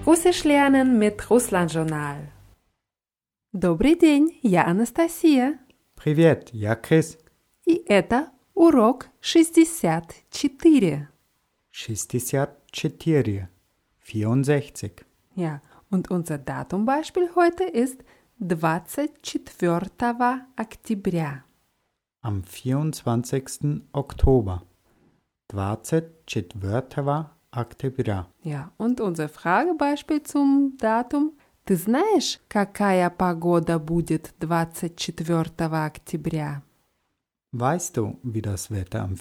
Russisch lernen mit Russland-Journal. Добрый день, я Анастасия. Привет, я Крис. И это урок 64. 64. 64. Ja, und unser Datumbeispiel heute ist 24 октября. Am 24. Oktober. 24 октября. Ja, und unser Fragebeispiel zum Datum. Ты знаешь, какая погода будет 24 октября? Weißt du, wie das Wetter am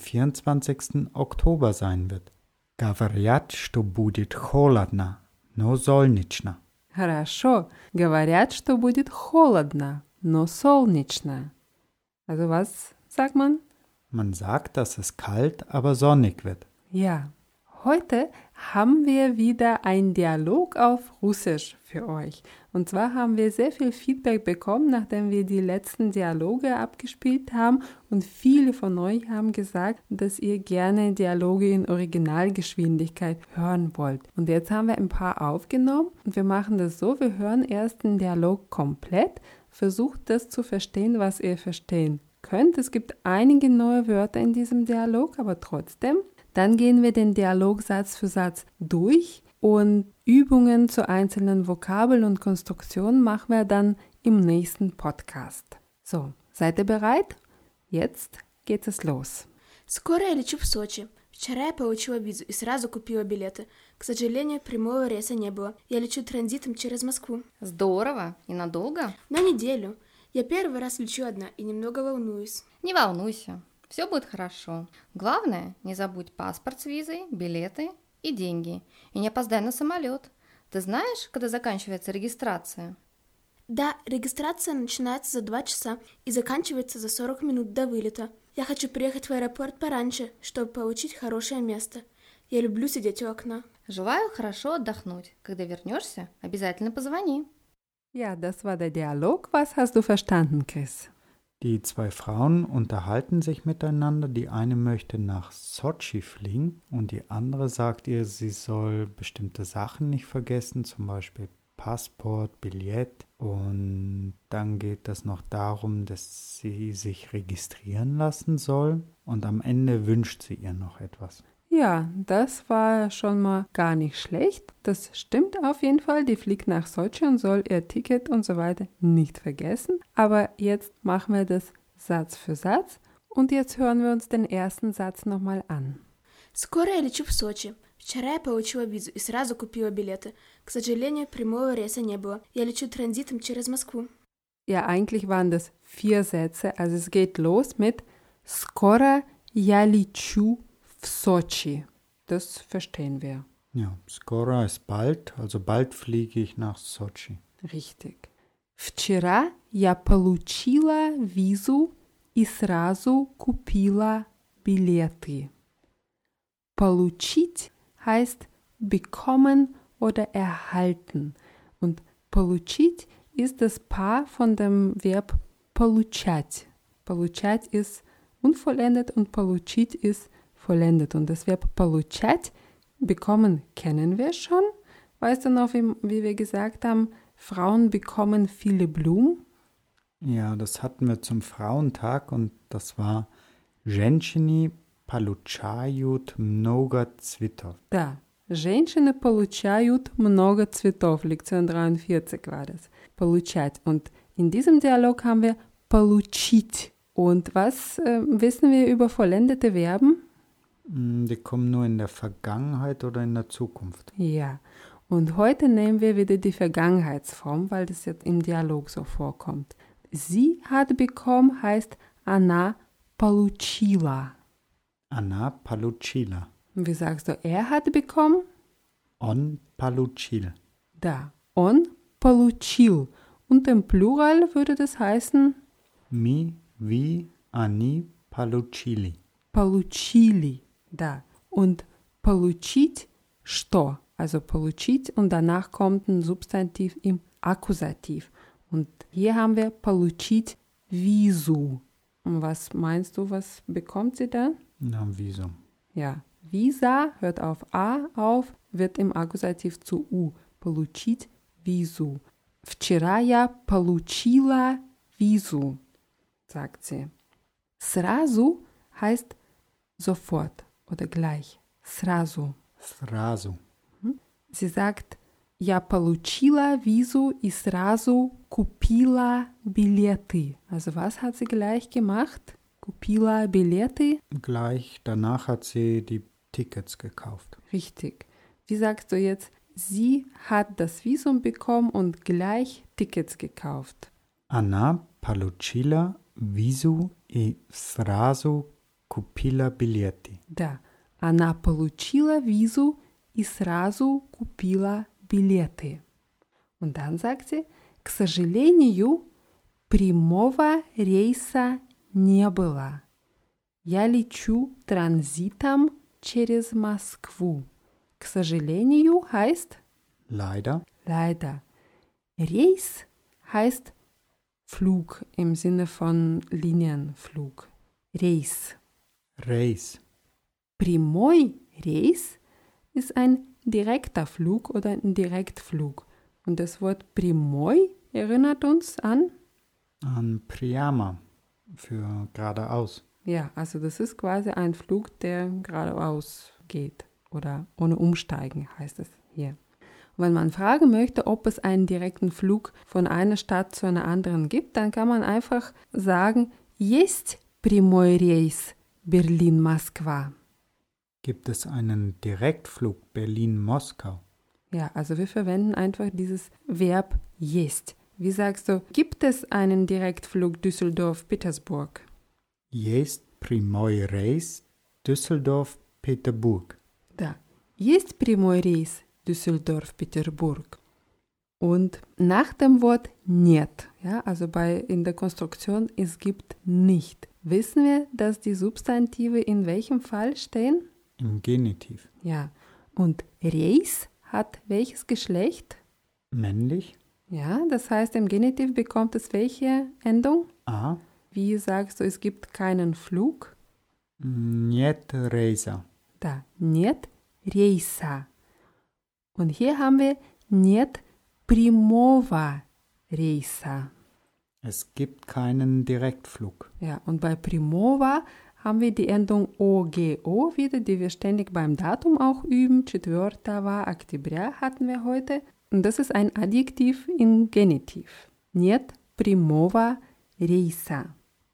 24. Oktober sein wird? Говорят, что будет холодно, но солнечно. Хорошо. Говорят, что будет холодно, но солнечно. Also was sagt man? Man sagt, dass es kalt, aber sonnig wird. Ja. Heute haben wir wieder einen Dialog auf Russisch für euch. Und zwar haben wir sehr viel Feedback bekommen, nachdem wir die letzten Dialoge abgespielt haben. Und viele von euch haben gesagt, dass ihr gerne Dialoge in Originalgeschwindigkeit hören wollt. Und jetzt haben wir ein paar aufgenommen und wir machen das so, wir hören erst den Dialog komplett, versucht das zu verstehen, was ihr verstehen könnt. Es gibt einige neue Wörter in diesem Dialog, aber trotzdem. Dann gehen wir den Dialog Satz für Satz durch und Übungen zu einzelnen Vokabeln und Konstruktionen machen wir dann im nächsten Podcast. So, seid ihr bereit? Jetzt geht es los. Скоро я лечу в Сочи. Вчера я получила визу и сразу купила билеты. К сожалению, прямого рейса не было. Я лечу транзитом через Москву. Здорово. И надолго? На неделю. Я первый раз лечу одна и немного волнуюсь. Не волнуйся. Все будет хорошо. Главное, не забудь паспорт с визой, билеты и деньги. И не опоздай на самолет. Ты знаешь, когда заканчивается регистрация? Да, регистрация начинается за 2 часа и заканчивается за 40 минут до вылета. Я хочу приехать в аэропорт пораньше, чтобы получить хорошее место. Я люблю сидеть у окна. Желаю хорошо отдохнуть. Когда вернешься, обязательно позвони. Ja, das war der Dialog. Was hast du verstanden, Chris? Die zwei Frauen unterhalten sich miteinander. Die eine möchte nach Sotschi fliegen und die andere sagt ihr, sie soll bestimmte Sachen nicht vergessen, zum Beispiel Passport, Billett. Und dann geht es noch darum, dass sie sich registrieren lassen soll. Und am Ende wünscht sie ihr noch etwas. Ja, das war schon mal gar nicht schlecht. Das stimmt auf jeden Fall. Die fliegt nach Sochi und soll ihr Ticket und so weiter nicht vergessen. Aber jetzt machen wir das Satz für Satz. Und jetzt hören wir uns den ersten Satz nochmal an. Скоро я лечу в Сочи. Вчера я получила визу и сразу купила билеты. К сожалению, прямого рейса не было. Я лечу транзитом через Москву. Ja, eigentlich waren das 4 Sätze. Also es geht los mit Skoro я лечу в Сочи. Das verstehen wir. Ja, skoro ist bald, also bald fliege ich nach Sotschi. Richtig. Вчера я получила визу и сразу купила билеты. Получить heißt bekommen oder erhalten. Und получить ist das Paar von dem Verb получать. Получать ist unvollendet und получить ist vollendet. Und das Verb получать, bekommen, kennen wir schon. Weißt du noch, wie wir gesagt haben, Frauen bekommen viele Blumen? Ja, das hatten wir zum Frauentag und das war Женщины получают много цветов. Да, женщины получают много цветов. Lektion 43 war das. Получать. Und in diesem Dialog haben wir получить. Und was wissen wir über vollendete Verben? Die kommen nur in der Vergangenheit oder in der Zukunft. Ja, und heute nehmen wir wieder die Vergangenheitsform, weil das jetzt im Dialog so vorkommt. Sie hat bekommen heißt она получила. Она получила. Wie sagst du, er hat bekommen? Он получил. Da, он получил. Und im Plural würde das heißen Мы, вы, они получили. Получили. Da. Und получить что? Also получить und danach kommt ein Substantiv im Akkusativ. Und hier haben wir получить визу. Und was meinst du, was bekommt sie dann? Na, Visum. Ja, Visa hört auf A auf, wird im Akkusativ zu U. получить визу. Вчера я получила визу, sagt sie. Сразу heißt sofort oder gleich. Сразу. Srazu. Sie sagt, я получила визу и сразу купила билеты. Also was hat sie gleich gemacht? Купила билеты? Gleich danach hat sie die Tickets gekauft. Richtig. Wie sagst du jetzt? Sie hat das Visum bekommen und gleich Tickets gekauft. Она получила визу и сразу купила билеты. Да. Она получила визу и сразу купила билеты. Und dann sagt sie, к сожалению, прямого рейса не было. Я лечу транзитом через Москву. К сожалению heißt Leider. leider. Reis heißt Flug im Sinne von Linienflug. Reis. Reis. Прямой Reis ist ein direkter Flug oder ein Direktflug. Und das Wort прямой erinnert uns an? An Priyama für geradeaus. Ja, also das ist quasi ein Flug, der geradeaus geht oder ohne Umsteigen heißt es hier. Und wenn man fragen möchte, ob es einen direkten Flug von einer Stadt zu einer anderen gibt, dann kann man einfach sagen, есть прямой рейс Berlin-Moskwa. Gibt es einen Direktflug Berlin-Moskau? Ja, also wir verwenden einfach dieses Verb есть. Wie sagst du, gibt es einen Direktflug Düsseldorf-Petersburg? Есть прямой рейс Düsseldorf-Peterburg. Да, есть прямой рейс Düsseldorf-Peterburg. Und nach dem Wort нет, ja, also in der Konstruktion es gibt nicht, wissen wir, dass die Substantive in welchem Fall stehen? Im Genitiv. Ja, und Reis hat welches Geschlecht? Männlich. Ja, das heißt, im Genitiv bekommt es welche Endung? A. Wie sagst du, es gibt keinen Flug? Нет рейса. Da, нет рейса. Und hier haben wir нет прямого рейса. Es gibt keinen Direktflug. Ja, und bei прямого haben wir die Endung OGO wieder, die wir ständig beim Datum auch üben. Четвертого октября hatten wir heute. Und das ist ein Adjektiv in Genitiv. Нет прямого рейса.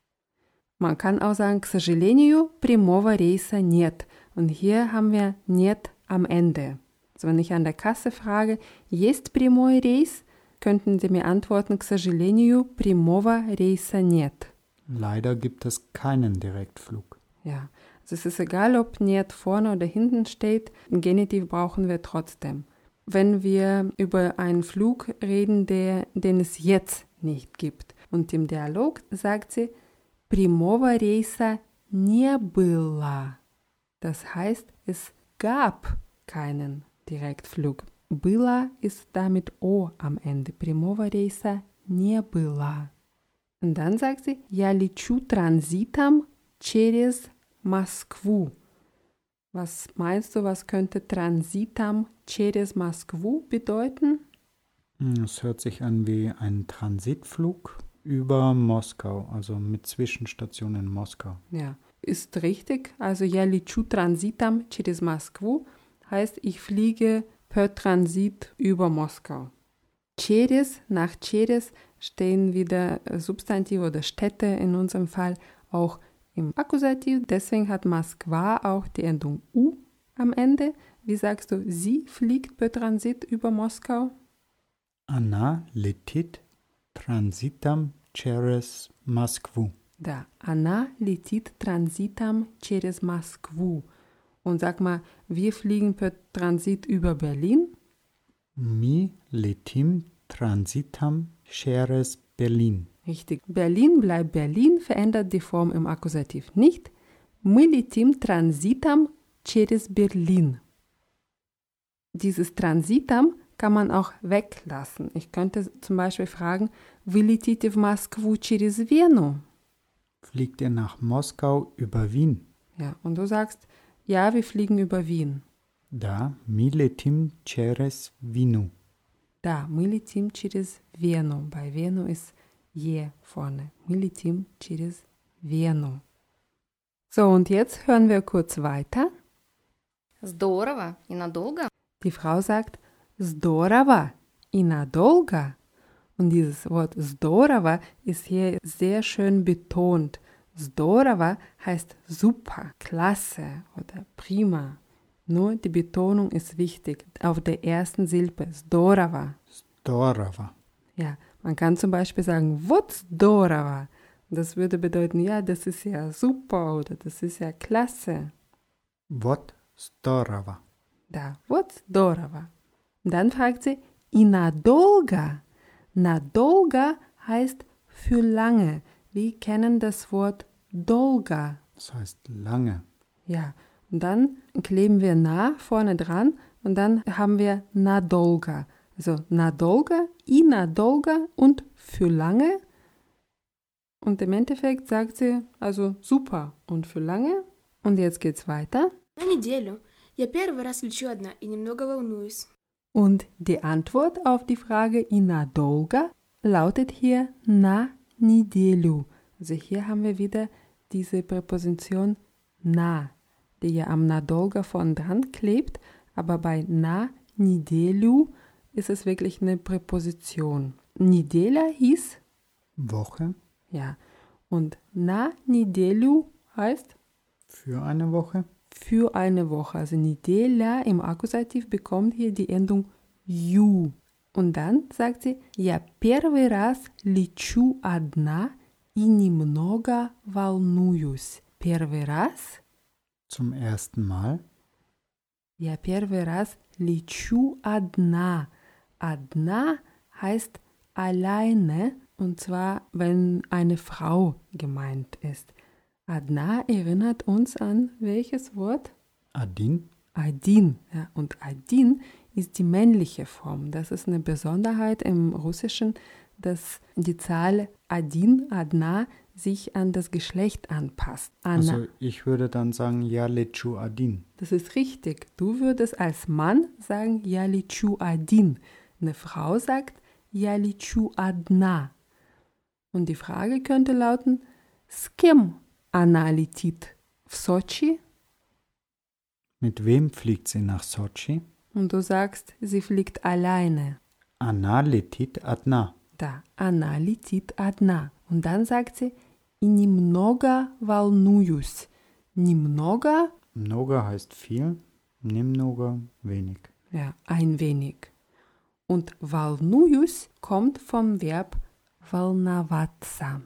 Man kann auch sagen, к сожалению, прямого рейса нет. Und hier haben wir нет am Ende. Also wenn ich an der Kasse frage, есть прямой рейс, könnten Sie mir antworten, к сожалению, прямого рейса нет. Leider gibt es keinen Direktflug. Ja, also es ist egal, ob нет vorne oder hinten steht, im Genitiv brauchen wir trotzdem. Wenn wir über einen Flug reden, den es jetzt nicht gibt. Und im Dialog sagt sie, прямого рейса не было. Das heißt, es gab keinen Direktflug. Было ist damit O am Ende. Прямого рейса не было. Und dann sagt sie, я лечу транзитом через Москву. Was meinst du, was könnte Transitam через Москву bedeuten? Es hört sich an wie ein Transitflug über Moskau, also mit Zwischenstation in Moskau. Ja, ist richtig. Also я лечу транзитом через Москву heißt, ich fliege per Transit über Moskau. Через, nach через stehen wieder Substantive oder Städte in unserem Fall auch im Akkusativ. Deswegen hat Moskwa auch die Endung U am Ende. Wie sagst du, sie fliegt per Transit über Moskau? Она летит транзитом через Москву. Да, она летит транзитом через Москву. Und sag mal, wir fliegen per Transit über Berlin? Мы летим транзитом через Berlin. Richtig. Berlin bleibt Berlin, verändert die Form im Akkusativ nicht. Мы летим транзитом через Berlin. Dieses Transitam kann man auch weglassen. Ich könnte zum Beispiel fragen, вы летите в Москву через Вену? Fliegt ihr nach Moskau über Wien? Ja, und du sagst, ja, wir fliegen über Wien. Да, мы летим через Вену. Да, мы летим через Вену. Bei Вену ist je vorne. Мы летим через Вену. So, und jetzt hören wir kurz weiter. Здорово и надолго. Die Frau sagt, здорово и надолго. Und dieses Wort здорово ist hier sehr schön betont. Здорово heißt super, klasse oder prima. Nur die Betonung ist wichtig auf der ersten Silbe. Здорово. Здорово. Ja, man kann zum Beispiel sagen, вот здорово. Das würde bedeuten, ja, das ist ja super oder das ist ja klasse. Вот здорово. Да, вот здорово. Und dann fragt sie, и надолго. Надолго heißt für lange. Wir kennen das Wort долго. Das heißt lange. Ja, und dann kleben wir na vorne dran und dann haben wir надолго. Also надолго, и надолго und für lange. Und im Endeffekt sagt sie also super und für lange. Und jetzt geht's weiter. На неделю. Я первый раз лечу одна и немного волнуюсь. Und die Antwort auf die Frage и надолго lautet hier на неделю. Also hier haben wir wieder diese Präposition na, die ja am надолго vorn dran klebt, aber bei на неделю ist es wirklich eine Präposition. Неделя hieß Woche. ja, und на неделю heißt Für eine Woche. für eine Woche. Also неделя im Akkusativ bekommt hier die Endung ю. Und dann sagt sie, я первый раз лечу одна и немного волнуюсь. Первый раз. Zum ersten Mal. Я первый раз лечу одна. Одна heißt alleine, und zwar, wenn eine Frau gemeint ist. Одна erinnert uns an welches Wort? Один. Один. Ja, und один ist die männliche Form. Das ist eine Besonderheit im Russischen, dass die Zahl один, одна sich an das Geschlecht anpasst. Also ich würde dann sagen, я лечу один. Das ist richtig. Du würdest als Mann sagen, я лечу один. Eine Frau sagt, я лечу одна. Und die Frage könnte lauten, с кем она летит? В Сочи? Mit wem fliegt sie nach Sochi? Und du sagst, sie fliegt alleine. Она летит одна. Да, она летит одна. Und dann sagt sie, и немного волнуюсь. Немного, Много heißt viel, немного wenig. ja, ein wenig. Und волнуюсь kommt vom Verb волноваться.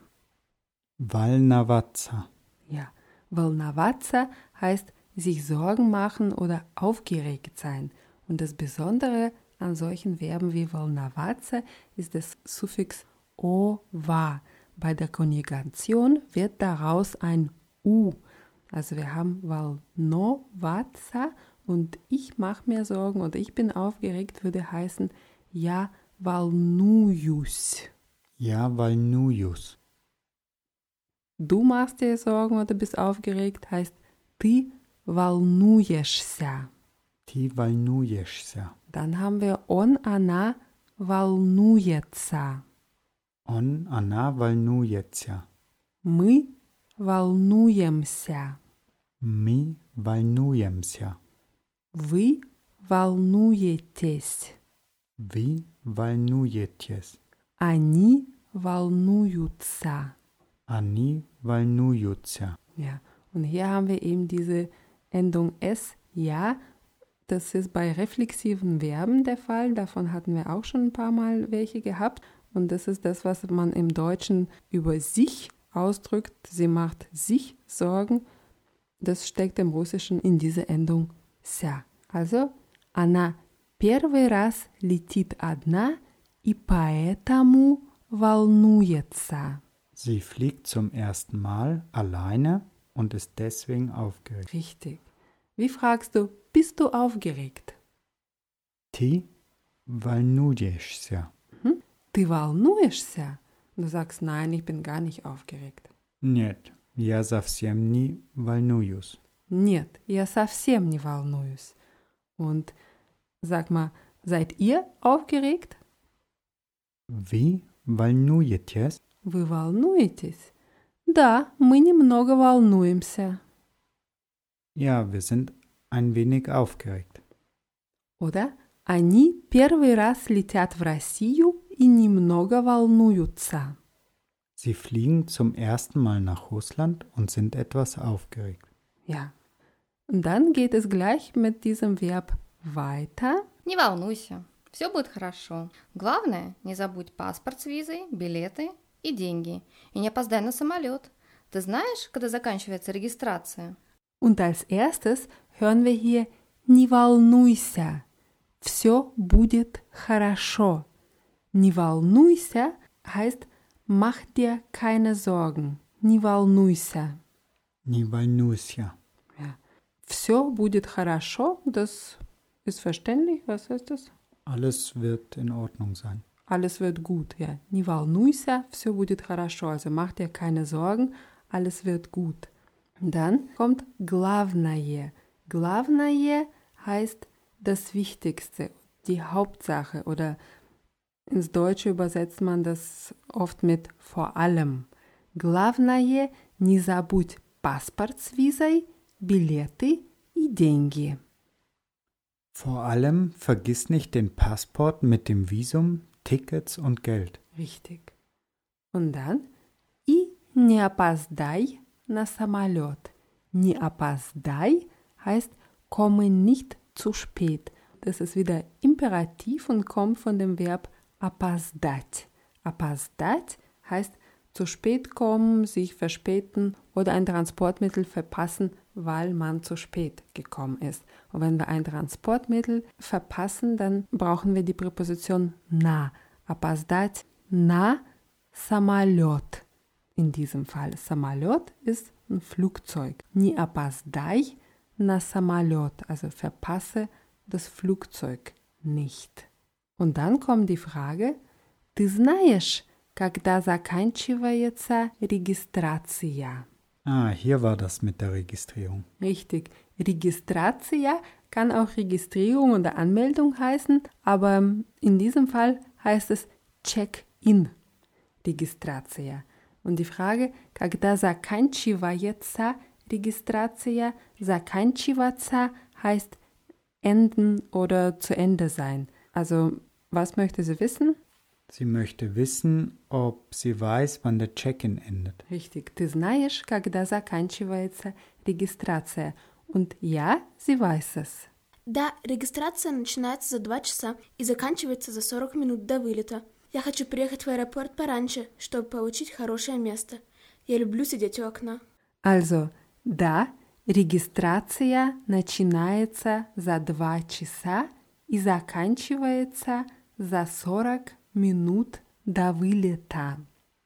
Волноваться. Ja, волноваться heißt sich Sorgen machen oder aufgeregt sein. Und das Besondere an solchen Verben wie волноваться ist das Suffix ova. Bei der Konjugation wird daraus ein U. Also wir haben волноваться und ich mache mir Sorgen oder ich bin aufgeregt würde heißen я волнуюсь. Я волнуюсь. Du machst dir Sorgen oder bist aufgeregt heißt ты волнуешься. Ты волнуешься. Dann haben wir он, она волнуется. Он, она волнуется. Мы волнуемся. Мы волнуемся. Вы волнуетесь. Вы волнуетесь. Они волнуются. Они волнуются. Ja, und hier haben wir eben diese Endung S, ja. Das ist bei reflexiven Verben der Fall. Davon hatten wir auch schon ein paar Mal welche gehabt. Und das ist das, was man im Deutschen über sich ausdrückt. Sie macht sich Sorgen. Das steckt im Russischen in diese Endung ся. Also, она первый раз летит одна и поэтому волнуется. Sie fliegt zum ersten Mal alleine und ist deswegen aufgeregt. Richtig. Wie fragst du, bist du aufgeregt? Ты волнуешься. Ты волнуешься? Du sagst, nein, ich bin gar nicht aufgeregt. Нет, я совсем не волнуюсь. Нет, я совсем не волнуюсь. Und sag mal, seid ihr aufgeregt? Вы волнуетесь? Вы волнуетесь? Да, мы немного волнуемся. Ja, wir sind ein wenig aufgeregt. Oder? Они первый раз летят в Россию и немного волнуются. Sie fliegen zum ersten Mal nach Russland und sind etwas aufgeregt. Ja. Und dann geht es gleich mit diesem Verb weiter. Не волнуйся, все будет хорошо. Главное, не забудь паспорт с визой, билеты и деньги. И не опоздай на самолет. Ты знаешь, когда заканчивается регистрация? Und als erstes hören wir hier «Не волнуйся». Все будет хорошо. «Не волнуйся» heißt «Mach dir keine Sorgen». «Не волнуйся». Не волнуйся. Ja. «Все будет хорошо», das ist verständlich. Was heißt das? Alles wird in Ordnung sein. Alles wird gut, ja. «Не волнуйся», «Все будет хорошо». Also mach dir keine Sorgen, alles wird gut. Dann kommt главное. Главное heißt das Wichtigste, die Hauptsache oder ins Deutsche übersetzt man das oft mit vor allem. Главное, не забудь паспорт с визой, билеты и деньги. Vor allem vergiss nicht den Passport mit dem Visum, Tickets und Geld. Richtig. Und dann и не опоздай на самолет. Не опоздай heißt komme nicht zu spät. Das ist wieder Imperativ und kommt von dem Verb опоздать. Опоздать heißt zu spät kommen, sich verspäten oder ein Transportmittel verpassen, weil man zu spät gekommen ist. Und wenn wir ein Transportmittel verpassen, dann brauchen wir die Präposition на. Опоздать на самолет. In diesem Fall. Самолет ist ein Flugzeug. Не опоздай на самолет. Also verpasse das Flugzeug nicht. Und dann kommt die Frage, ты знаешь, когда заканчивается регистрация? Hier war das mit der Registrierung. Richtig. Registratia kann auch Registrierung oder Anmeldung heißen, aber in diesem Fall heißt es Check-in. Registratia. Und die Frage, когда заканчивается регистрация, заканчиваться heißt enden oder zu Ende sein. Also, was möchte sie wissen? Sie möchte wissen, ob sie weiß, wann der Check-in endet. Richtig. Ты знаешь, когда заканчивается регистрация? Und ja, sie weiß es. Да, регистрация начинается за 2 часа и заканчивается за 40 минут до вылета. Я хочу приехать в аэропорт пораньше, чтобы получить хорошее место. Я люблю сидеть у окна. Also, да, регистрация начинается за 2 часа и заканчивается за 40 Minuten до вылета.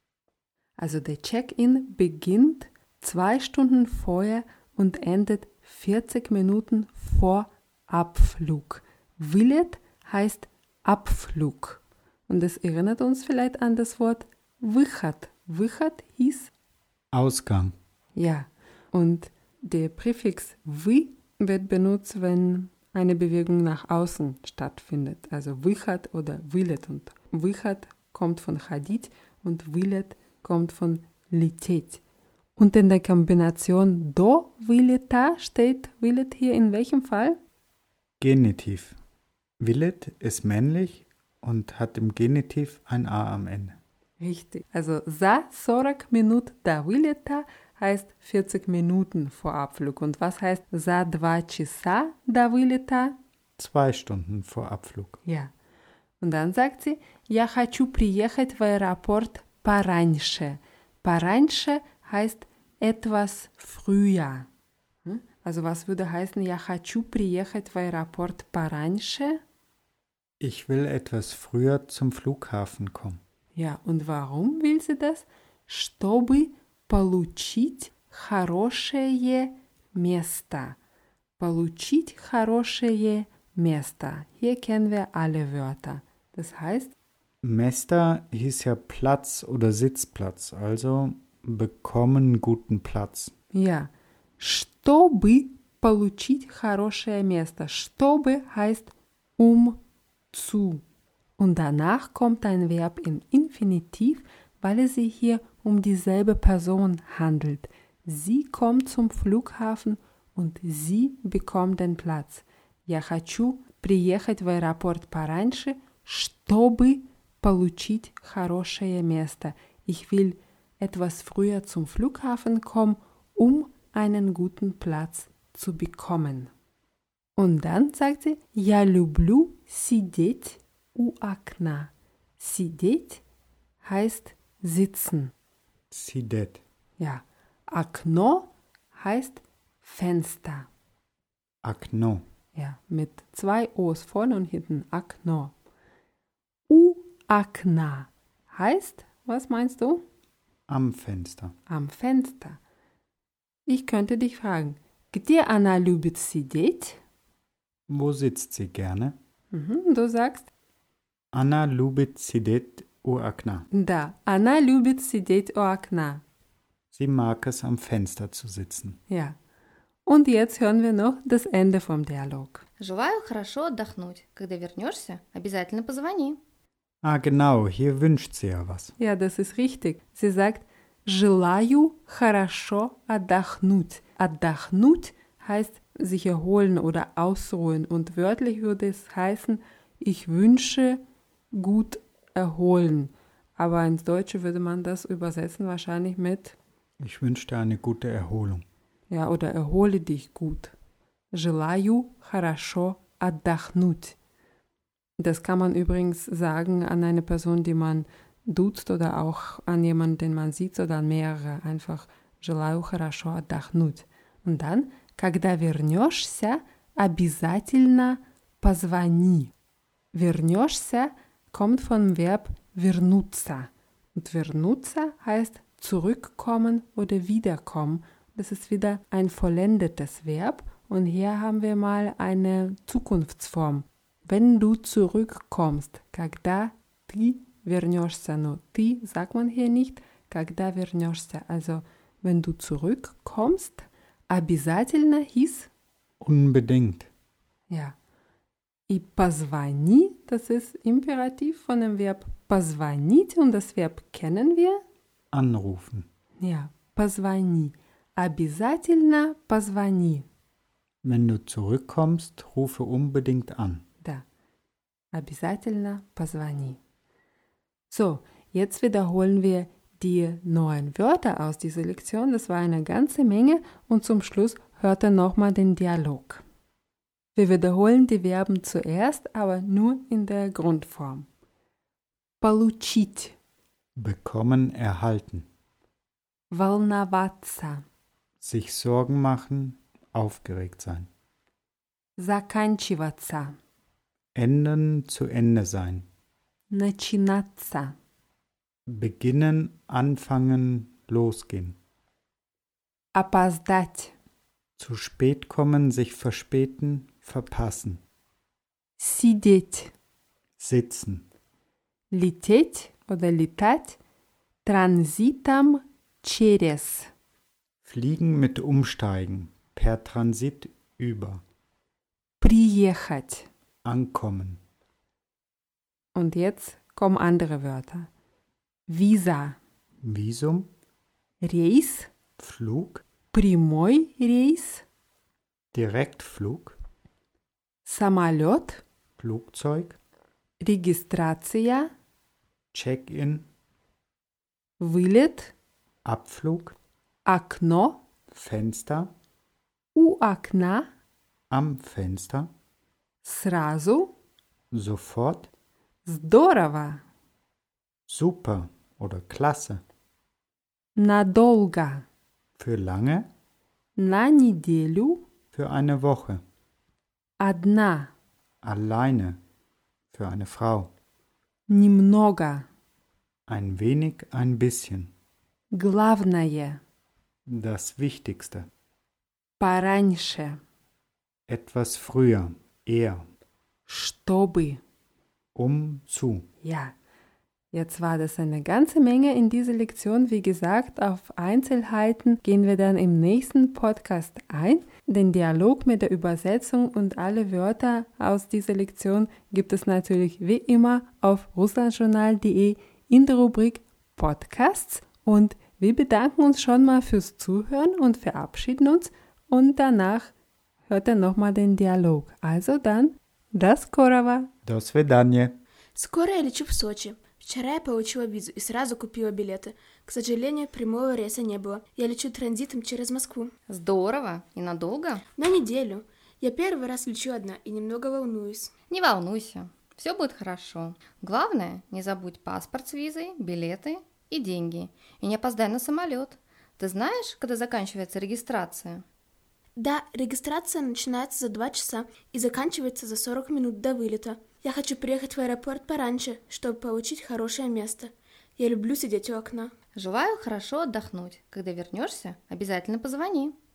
Also der Check-in beginnt 2 Stunden vorher und endet 40 Minuten vor Abflug. Вылет heißt Abflug. Und es erinnert uns vielleicht an das Wort выход. Выход hieß Ausgang. ja. Und der Präfix вы wird benutzt, wenn eine Bewegung nach außen stattfindet. Also выход oder вылет. Und выход kommt von ходить und вылет kommt von лететь. Und in der Kombination до вылета steht вылет hier in welchem Fall? Genitiv. Willet ist männlich und hat im Genitiv ein A am Ende. Richtig. Also за 40 минут до вылета heißt 40 Minuten vor Abflug. Und was heißt за 2 часа до вылета? 2 Stunden vor Abflug. Ja. Und dann sagt sie, я хочу приехать в аэропорт пораньше. Пораньше heißt etwas früher. Also was würde heißen, я хочу приехать в аэропорт пораньше? Ich will etwas früher zum Flughafen kommen. Ja, und warum will sie das? Чтобы получить хорошее место. Получить хорошее место. Hier kennen wir alle Wörter. Das heißt, Место hieß ja Platz oder Sitzplatz, also bekommen guten Platz. ja, чтобы получить хорошее место. Чтобы heißt zu. Und danach kommt ein Verb im Infinitiv, weil es sich hier um dieselbe Person handelt. Sie kommt zum Flughafen und sie bekommt den Platz. Я хочу приехать в аэропорт пораньше, чтобы получить хорошее место. Ich will etwas früher zum Flughafen kommen, um einen guten Platz zu bekommen. Und dann sagt sie, я люблю сидеть у окна. Сидеть heißt sitzen. Sidet. Ja, окно heißt Fenster. Окно. Ja, mit 2 O's vorne und hinten. Окно. У окна heißt, was meinst du? Am Fenster. Am Fenster. Ich könnte dich fragen, где она любит сидеть? Wo sitzt sie gerne? Du sagst, Anna любит сидеть у окна. да, она любит сидеть у окна. Sie mag es, am Fenster zu sitzen. Ja. Und jetzt hören wir noch das Ende vom Dialog. Желаю хорошо отдохнуть. Когда вернешься, обязательно позвони. Ah, genau, hier wünscht sie ja was. Ja, das ist richtig. Sie sagt, желаю хорошо отдохнуть. Отдохнуть heißt sich erholen oder ausruhen. Und wörtlich würde es heißen, ich wünsche gut erholen. Aber ins Deutsche würde man das übersetzen wahrscheinlich mit, Ich wünsche dir eine gute Erholung. ja, oder erhole dich gut. Желаю хорошо отдохнуть. Das kann man übrigens sagen an eine Person, die man duzt oder auch an jemanden, den man sieht oder an mehrere. Einfach желаю хорошо отдохнуть. Und dann, когда вернешься, обязательно позвони. Вернешься kommt vom Verb вернуться. Und вернуться heißt zurückkommen oder wiederkommen. Das ist wieder ein vollendetes Verb. Und hier haben wir mal eine Zukunftsform. Wenn du zurückkommst, когда ты вернешься, но ты sagt man hier nicht, когда вернешься. Also, wenn du zurückkommst, обязательно hieß, Unbedingt. ja. И позвони, das ist Imperativ von dem Verb позвонить und das Verb kennen wir. Anrufen. Ja, позвони. Обязательно позвони. Wenn du zurückkommst, rufe unbedingt an. Да. Обязательно позвони. So, jetzt wiederholen wir die neuen Wörter aus dieser Lektion. Das war eine ganze Menge und zum Schluss hört ihr nochmal den Dialog. Wir wiederholen die Verben zuerst, aber nur in der Grundform. Получить. Bekommen, erhalten. Волноваться. Sich Sorgen machen, aufgeregt sein. Заканчиваться. Enden, zu Ende sein. Начинаться. Beginnen, anfangen, losgehen. Опоздать. Zu spät kommen, sich verspäten, verpassen. Сидеть. Sitzen. Лететь oder летать транзитом через. Fliegen mit Umsteigen. Per Transit über. Приехать. Ankommen. Und jetzt kommen andere Wörter. Visa. Visum. Рейс. Flug. Прямой рейс. Direktflug. Самолет. Flugzeug. Регистрация. Check-in. Вылет. Abflug. Окно. Fenster. У окна. Am Fenster. Сразу. Sofort. Здорово. Super oder klasse. Надолго. Für lange. На неделю. Für eine Woche. Одна. Alleine. Für eine Frau. Немного. Ein wenig, ein bisschen. Главное. Das Wichtigste. Пораньше. Etwas früher. Eher. Чтобы. Zu. Ja. Jetzt war das eine ganze Menge in dieser Lektion. Wie gesagt, auf Einzelheiten gehen wir dann im nächsten Podcast ein. Den Dialog mit der Übersetzung und alle Wörter aus dieser Lektion gibt es natürlich wie immer auf russlandjournal.de in der Rubrik Podcasts. Und wir bedanken uns schon mal fürs Zuhören und verabschieden uns. Und danach hört ihr nochmal den Диалог. Also dann, до скорого! До свидания. Скоро я лечу в Сочи. Вчера я получила визу и сразу купила билеты. К сожалению, прямого рейса не было. Я лечу транзитом через Москву. Здорово. И надолго? На неделю. Я первый раз лечу одна и немного волнуюсь. Не волнуйся. Все будет хорошо. Главное, не забудь паспорт с визой, билеты и деньги. И не опоздай на самолет. Ты знаешь, когда заканчивается регистрация? Да, регистрация начинается за 2 часа и заканчивается за 40 минут до вылета. Я хочу приехать в аэропорт пораньше, чтобы получить хорошее место. Я люблю сидеть у окна. Желаю хорошо отдохнуть. Когда вернешься, обязательно позвони.